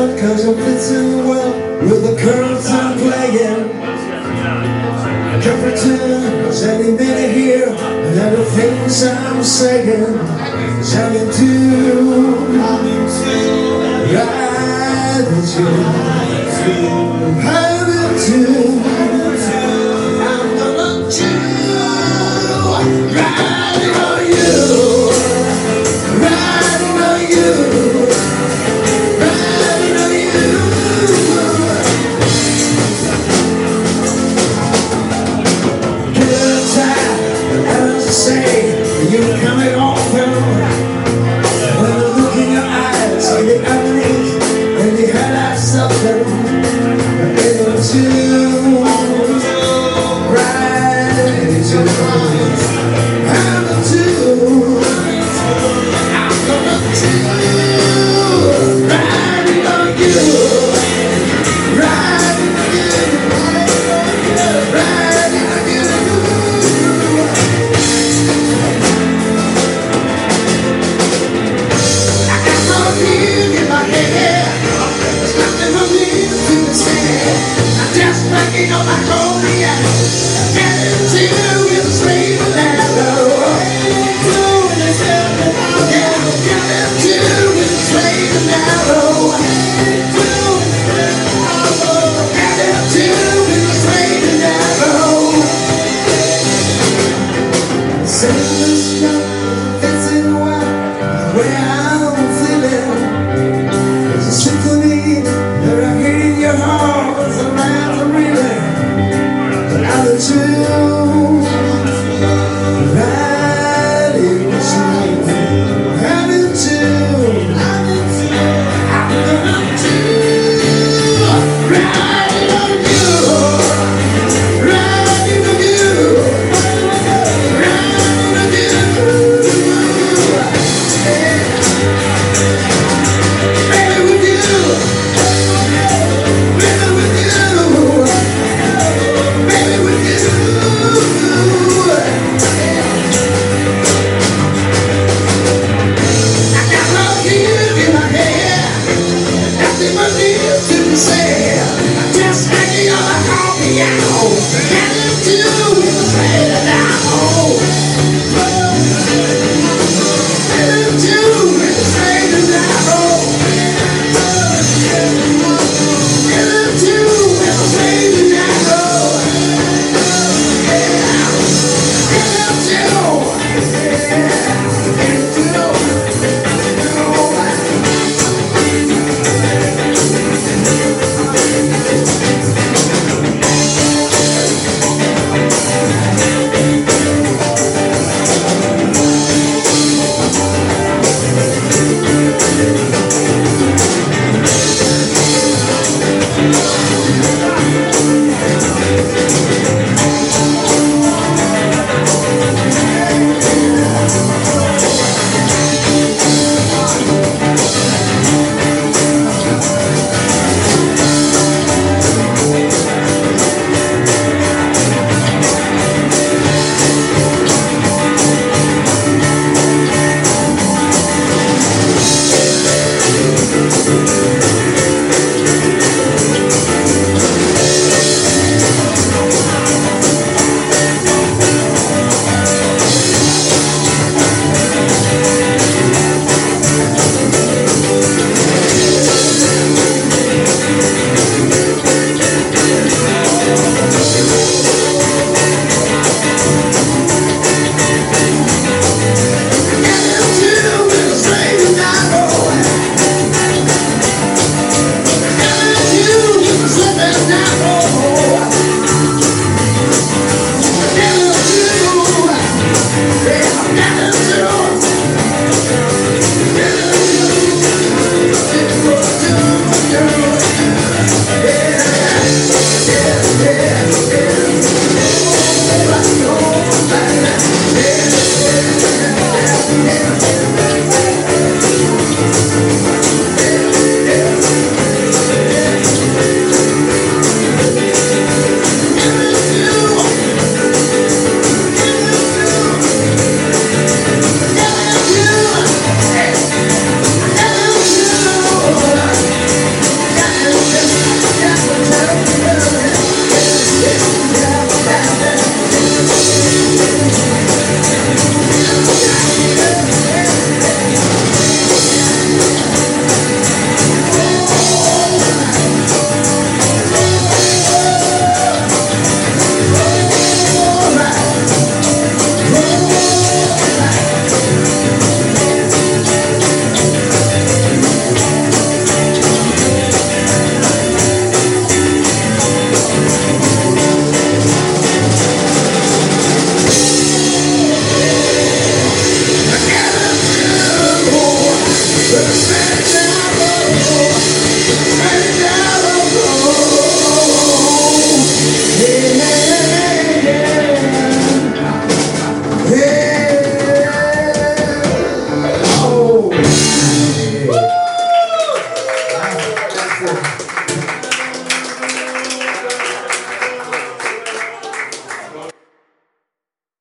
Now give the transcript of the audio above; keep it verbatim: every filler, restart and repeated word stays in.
out cause I'm fitting well with the curls I'm playing. Every tunes, any minute here, and all the things I'm saying, shining to, right into, having to, I'm gonna do, riding on you, riding on you, riding on you. Good time, as I say, you're coming often. When I look in your eyes, in the underneath, and the highlights of them, able to ride into, having to, I'm gonna do, riding on you, riding on you, riding on you. I got no feeling in my head, there's nothing for me to say. I'm just banging on my cognac, getting to with a straight and narrow. Yeah, getting to with a straight and narrow. Getting to with a straight and narrow. Sing this stuff, fitting well where I'm feeling. There's a symphony that I hear in your heart, it's a matter really. But I'm the two, riding to, having to, I'm gonna do, riding on you, riding on you, riding on you. Baby with you, baby with you, baby with you. I got love here in my head, nothing but needs to be said. I'm just hanging on the coffee,